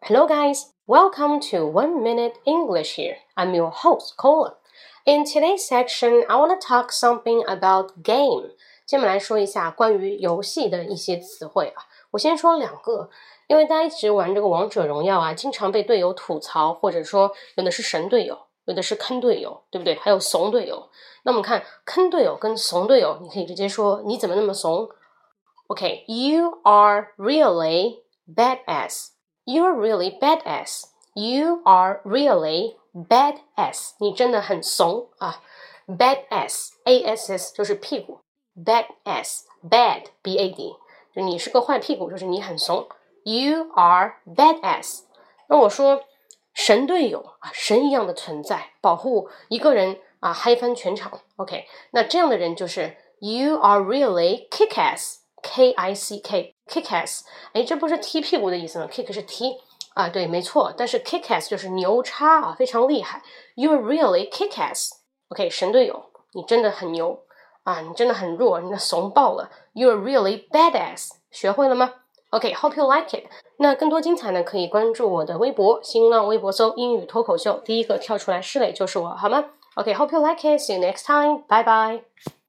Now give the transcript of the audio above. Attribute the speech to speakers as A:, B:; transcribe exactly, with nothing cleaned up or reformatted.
A: Hello guys, welcome to One Minute English here. I'm your host, Cola. In today's section, I want to talk something about game. 今天我们来说一下关于游戏的一些词汇啊。我先说两个，因为大家一直玩这个王者荣耀啊，经常被队友吐槽，或者说有的是神队友，有的是坑队友，对不对？还有怂队友。那我们看坑队友跟怂队友，你可以直接说你怎么那么怂 ？Okay, you are really badass.You're really badass. You are really badass. 你真的很怂啊 ！Badass, A S S 就是屁股 ，badass, bad, B A D， 就你是个坏屁股，就是你很怂。You are badass. 那我说神队友啊，神一样的存在，保护一个人啊，嗨翻全场。OK， 那这样的人就是 You are really kick-ass.K I C K kick-ass， 哎，这不是踢屁股的意思吗 ？Kick 是踢啊，对，没错。但是 kick-ass 就是牛叉啊，非常厉害。You're really kick-ass。OK， 神队友，你真的很牛啊，你真的很弱，你的怂爆了。You're really badass， 学会了吗 ？OK，hope you like it。那更多精彩呢，可以关注我的微博，新浪微博搜英语脱口秀，第一个跳出来是磊就是我，好吗？OK，hope you like it。See you next time。拜拜。